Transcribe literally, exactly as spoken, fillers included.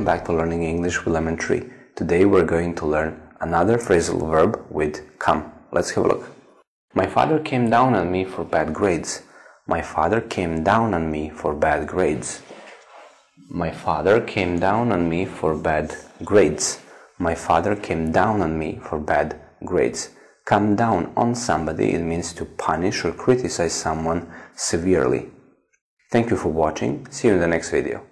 Welcome back to Learning English with Lemon Tree. Today we're going to learn another phrasal verb with come. Let's have a look. My father came down on me for bad grades. My father came down on me for bad grades. My father came down on me for bad grades. My father came down on me for bad grades. Come down on somebody, it means to punish or criticize someone severely. Thank you for watching. See you in the next video.